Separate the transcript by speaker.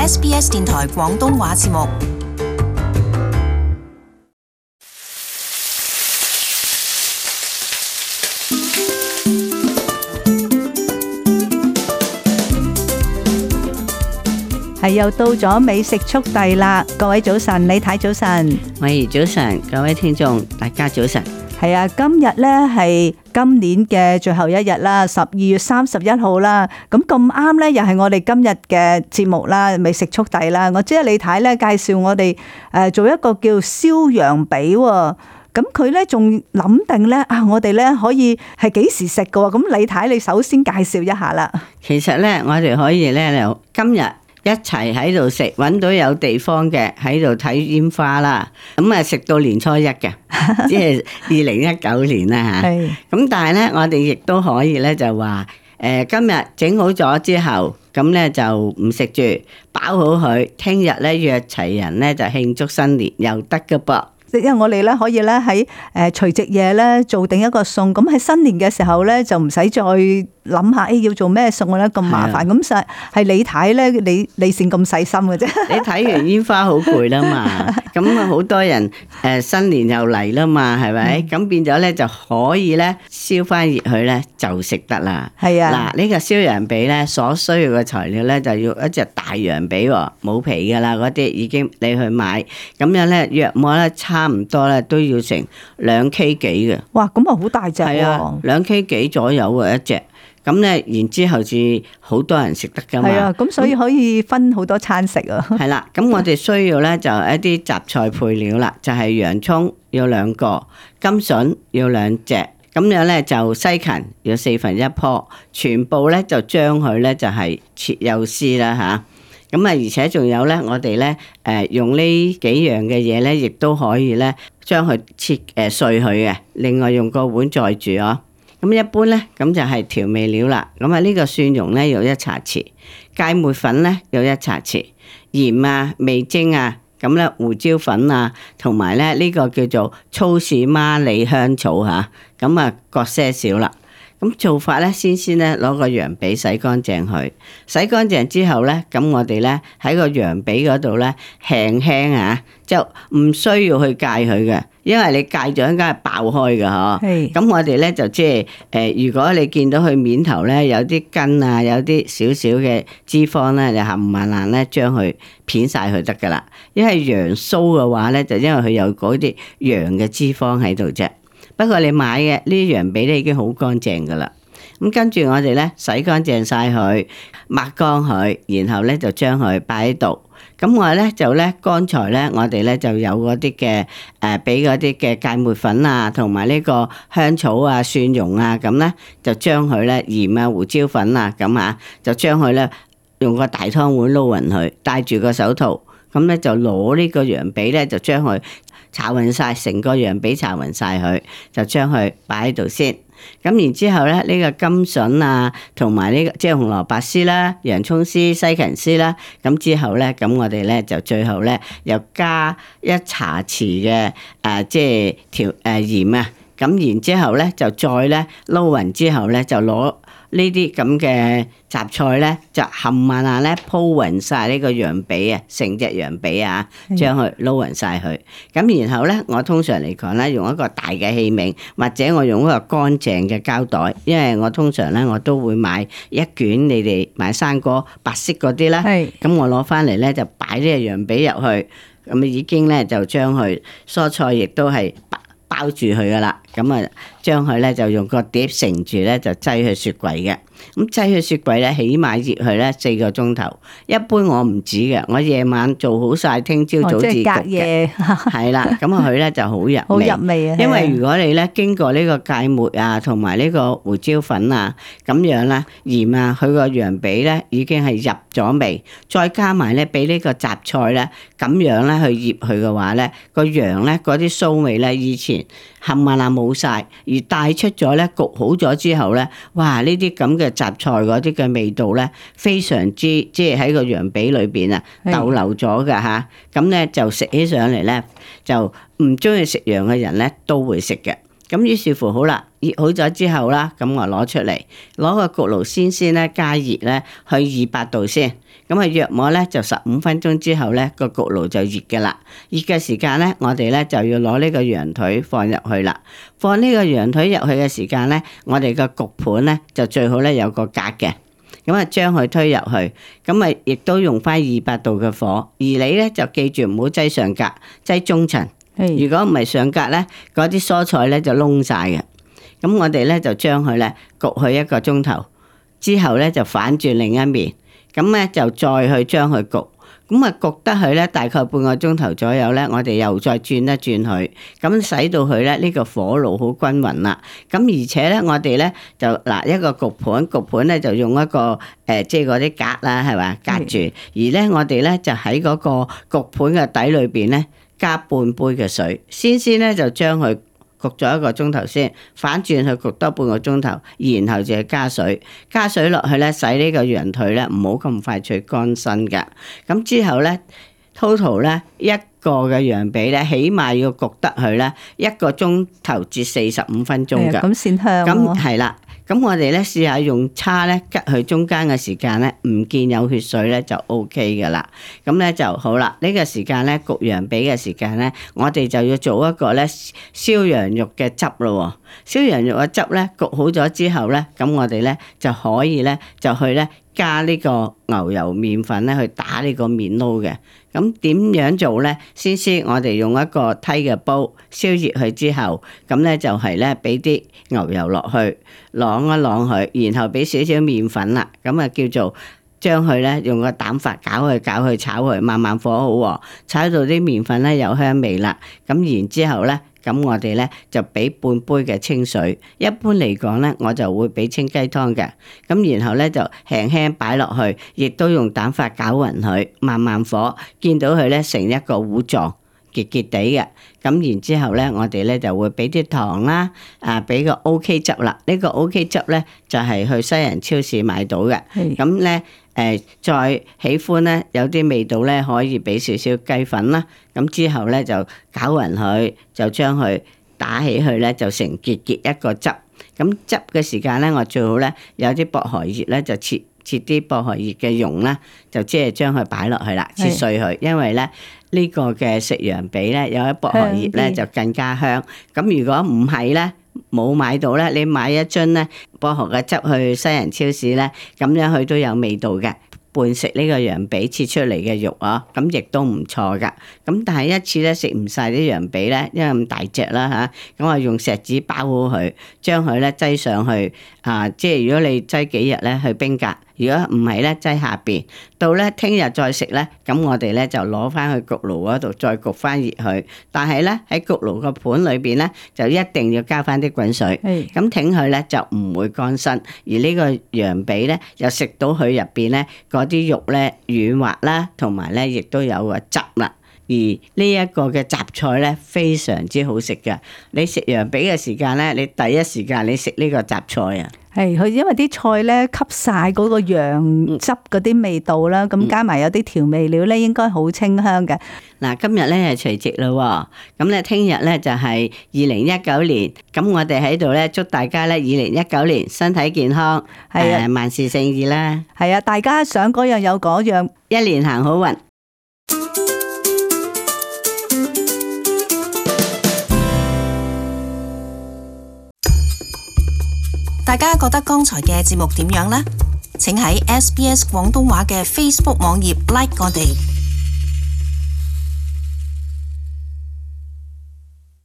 Speaker 1: SBS 電台廣東話節目。
Speaker 2: 係又到咗美食速遞啦！各位早晨，李太早晨，
Speaker 3: 喂，早晨，各位聽眾，大家早晨。
Speaker 2: 係啊，今日呢係今年嘅最後一日啦，12月31號啦。咁啱呢，又係我哋今日嘅節目啦，美食速遞啦。我知係李太呢介紹我哋做一個叫燒羊髀喎。咁佢呢仲諗定呢，我哋呢可以係幾時食㗎喎？咁李太，你首先介紹一下啦。
Speaker 3: 其實呢，我哋可以呢，今日一齊喺度食，揾到有地方嘅喺度睇煙花啦。咁啊，食到年初一嘅，即係2019年啦嚇。咁但係呢，我哋亦都可以呢，就話今日整好咗之後，咁呢就唔食住，包好佢，聽日呢約齊人呢，就慶祝新年又得㗎噃。
Speaker 2: 因為我哋咧可以咧喺除夕夜咧做定一個餸，咁喺新年嘅時候咧就唔使再諗下要做咩餸咧咁麻煩。咁實係李太咧，你先咁細心嘅啫。
Speaker 3: 你睇完煙花好攰啦嘛，咁啊好多人新年又嚟啦嘛，係咪？咁變咗咧就可以咧燒翻熱佢咧就食得啦。
Speaker 2: 係啊，
Speaker 3: 嗱呢個燒羊髀咧所需要嘅材料咧就要一隻大羊髀喎，冇皮噶啦，嗰啲已經你去買，咁樣咧約莫咧差唔多咧都要成2 K 幾嘅。
Speaker 2: 哇，咁啊好大隻喎。係
Speaker 3: 啊，2 K 幾左右啊一隻。咁咧，然之後至好多人食得噶嘛。
Speaker 2: 係啊，咁所以可以分好多餐食啊。
Speaker 3: 係啦，咁我哋需要咧就一啲雜菜配料啦，就係洋葱要2個，甘筍要2隻，咁樣咧就西芹要1/4棵，全部咧就將佢咧就係切幼絲啦吓。咁啊，而且仲有咧，我哋咧用呢幾樣嘅嘢咧，亦都可以咧將佢切碎佢嘅。另外用個碗載住哦。咁一般咧，咁就係調味料啦。咁啊，呢個蒜蓉咧要1茶匙，芥末粉咧要1茶匙，鹽啊、味精啊，咁咧胡椒粉啊，同埋咧呢個叫做粗士孖利香草嚇，咁啊各些少啦。咁做法咧，先咧攞個羊髀洗乾淨佢，洗乾淨之後咧，咁我哋咧喺個羊髀嗰度咧輕輕啊，就唔需要去戒佢嘅，因為你戒咗應該係爆開嘅嗬。係。咁我哋咧就即係如果你見到佢面頭咧有啲筋啊，有啲少少嘅脂肪咧，就冚唪唥咧將佢片晒佢得噶啦。因為羊酥嘅話咧，就因為佢有嗰啲羊嘅脂肪喺度啫。不過你買嘅呢啲羊髀咧已經好乾淨噶啦，咁跟住我哋咧洗乾淨晒佢，抹乾佢，然後咧就將佢擺喺度。咁我咧就咧剛才咧我哋咧就有嗰啲嘅俾嗰啲嘅芥末粉啊，同埋呢個香草啊、蒜蓉啊，咁咧就將佢咧鹽啊、胡椒粉啊咁啊，就將佢咧用個大湯碗撈勻佢，戴住個手套，咁咧就攞呢個羊髀咧就將佢炒勻晒，成個羊髀炒勻晒佢，就將佢擺喺度先。咁然之後咧，呢個甘筍啊，同埋呢個即係紅蘿蔔絲啦、洋葱絲、西芹絲啦。咁之後咧，咁我哋咧就最後咧又加1茶匙嘅即係鹽啊。咁然之後咧就再咧撈勻之後咧就攞呢啲咁嘅雜菜咧就冚唪唥咧鋪勻晒呢個羊髀啊，成隻羊髀啊，將佢撈勻晒佢。咁然後咧，我通常嚟講咧，用一個大嘅器皿，或者我用一個乾淨嘅膠袋，因為我通常咧我都會買一卷，你哋買生果白色嗰啲啦。係。咁我攞翻嚟咧就擺呢個羊髀入去，咁已經咧就將佢蔬菜亦都係包住佢噶啦，咁啊將佢咧就用個碟盛住咧就擠去雪櫃嘅。咁擠去雪櫃咧，起碼熱佢咧4個鐘頭。一般我唔止嘅，我夜晚做好晒，聽朝早至焗嘅。係啦，咁佢咧就好入味。好入味啊！因為如果你咧經過呢個芥末啊，同埋呢個胡椒粉啊，咁樣啦，鹽啊，佢個羊髀咧已經係入咗味，再加埋咧俾呢個雜菜咧，咁樣咧去醃佢嘅話咧，個羊咧嗰啲臊味咧以前冚唪唥冇晒，而帶出咗咧焗好咗之後咧，哇！呢啲咁嘅雜菜嗰啲嘅味道咧，非常之即係喺個羊髀裏邊啊逗留咗㗎嚇，咁咧就食起上嚟咧，就唔中意食羊嘅人咧都會食嘅。咁於是乎好啦，熱好咗之後啦，咁我攞出嚟，攞個焗爐先咧加熱咧去200度先。 咁啊約莫咧就15分鐘之後咧個焗爐就熱嘅啦。熱嘅時間咧，我哋咧就要攞呢個羊腿放入去啦。放呢個羊腿入去嘅時間咧，我哋個焗盤咧就最好咧有個格嘅。咁啊，將佢推入去，咁啊，亦都用翻200度嘅火。而你咧就記住唔好擠上格，擠中層。如果唔係上格咧，嗰啲蔬菜咧就燶晒嘅。咁我哋咧就將佢咧焗去1個鐘頭，之後咧就反轉另一面，咁咧就再去將佢焗。咁啊焗得佢咧大概半個鐘頭左右咧，我哋又再轉一轉佢，咁使到佢咧呢個火爐好均勻啦。咁而且咧我哋咧就嗱一個焗盤咧就用一個即係嗰啲格啦，係嘛，隔住。而咧我哋咧就喺嗰個焗盤嘅底裏邊咧加半杯嘅水，先咧就將佢焗咗1個鐘頭先，反轉去焗多半個鐘頭，然後就係加水落去咧，使呢個羊腿咧唔好咁快脆乾身㗎。咁之後咧 total 咧1個嘅羊髀咧，起碼要焗得佢咧1個鐘頭至45分鐘㗎。
Speaker 2: 咁先香。
Speaker 3: 咁係啦。咁我哋咧試下用叉咧吉佢中間嘅時間咧，唔見有血水咧就 OK 噶啦。咁咧就好啦。呢個時間咧焗羊髀嘅時間咧，我哋就要做一個咧燒羊肉嘅汁咯。燒羊肉嘅汁咧焗好咗之後咧，咁我哋咧就可以咧就去咧加呢個牛油麵粉咧去打呢個麵撈嘅。咁點樣做咧？先我哋用一個梯嘅煲燒熱佢之後，咁咧就係咧俾啲牛油落去，啷一啷佢，然後俾少少麵粉啦，咁啊叫做將佢咧用個蛋法攪去炒佢，慢慢火好喎，炒到啲麵粉咧有香味啦。咁然之後咧，咁我哋咧就俾半杯嘅清水，一般嚟講咧我就會俾清雞湯嘅。咁然後咧就輕輕擺落去，亦都用蛋法攪勻佢，慢慢火，見到佢咧成一個糊狀，結結地嘅。咁然之後咧，我哋咧就會俾啲糖啦，俾個 OK 汁啦。呢個 OK 汁咧就係去西人超市買到嘅。咁咧再喜歡咧有啲味道咧，可以俾少少雞粉啦。咁之後咧就攪勻佢，就將佢打起去咧，就成結一個汁。咁汁嘅時間咧，我最好咧有啲薄荷葉咧，就切啲薄荷葉嘅蓉啦，就即係將佢擺落去啦，切碎佢。因為咧呢個嘅食羊髀咧有啲薄荷葉咧就更加香。咁如果唔係咧，冇買到咧，你買一樽咧薄荷嘅汁去西人超市咧，咁樣佢都有味道嘅。伴食呢個羊髀切出嚟嘅肉啊，咁亦都唔錯噶。咁但係一次咧食唔晒啲羊髀咧，因為咁大隻啦嚇，咁我用錫紙包好佢，將佢咧擠上去即係如果你擠幾日咧去冰格，如果唔係咧擠下邊，到咧聽日再食咧，咁我哋咧就攞翻去焗爐嗰度再焗翻熱佢。但係咧喺焗爐個盤裏邊咧，就一定要加翻啲滾水，咁挺佢咧就唔會乾身。而呢個羊髀咧又食到佢入邊咧啲肉咧軟滑啦，同埋咧亦都有個汁啦。而呢一個嘅雜菜咧非常之好食嘅。你食羊髀嘅時間咧，你第一時間你食呢個雜菜啊。
Speaker 2: 係佢因為啲菜咧吸晒嗰個羊汁嗰啲味道啦，咁加埋有啲調味料咧，應該好清香嘅。
Speaker 3: 嗱，今日咧係除夕啦，咁咧聽日咧就係2019年，咁我哋喺度咧祝大家咧2019年身體健康，萬事勝意啦。
Speaker 2: 係啊，大家想嗰樣有嗰樣，
Speaker 3: 一年行好運。
Speaker 1: 大家覺得剛才嘅節目點樣呢？請喺SBS 廣東話嘅 Facebook 網頁 like 我哋。